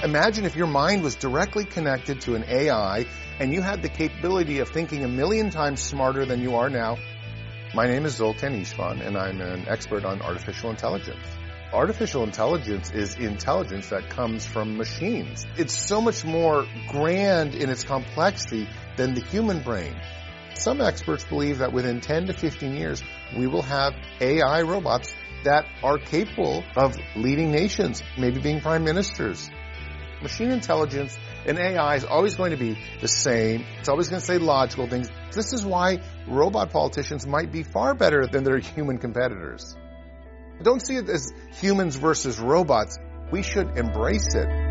Imagine if your mind was directly connected to an AI and you had the capability of thinking 1,000,000 times smarter than you are now. My name is Zoltan Istvan, and I'm an expert on artificial intelligence. Artificial intelligence is intelligence that comes from machines. It's so much more grand in its complexity than the human brain. Some experts believe that within 10 to 15 years, we will have AI robots that are capable of leading nations, maybe being prime ministers. Machine intelligence and AI is always going to be the same. It's always going to say logical things. This is why robot politicians might be far better than their human competitors. Don't see it as humans versus robots. We should embrace it.